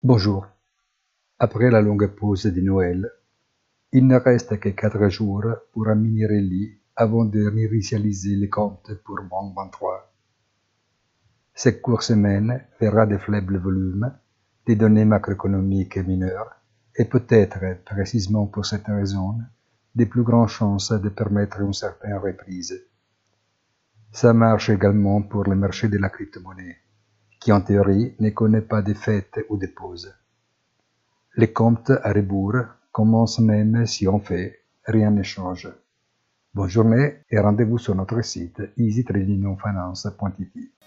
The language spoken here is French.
Bonjour. Après la longue pause de Noël, il ne reste que 4 jours pour Aminirelli avant de réinitialiser les comptes pour Bank23. Cette courte semaine verra de faibles volumes, des données macroéconomiques mineures et peut-être, précisément pour cette raison, des plus grandes chances de permettre une certaine reprise. Ça marche également pour le marché de la crypto-monnaie, qui en théorie ne connaît pas de fêtes ou de pauses. Les comptes à rebours commencent même si en fait rien ne change. Bonne journée et rendez-vous sur notre site easytradingfinance.it.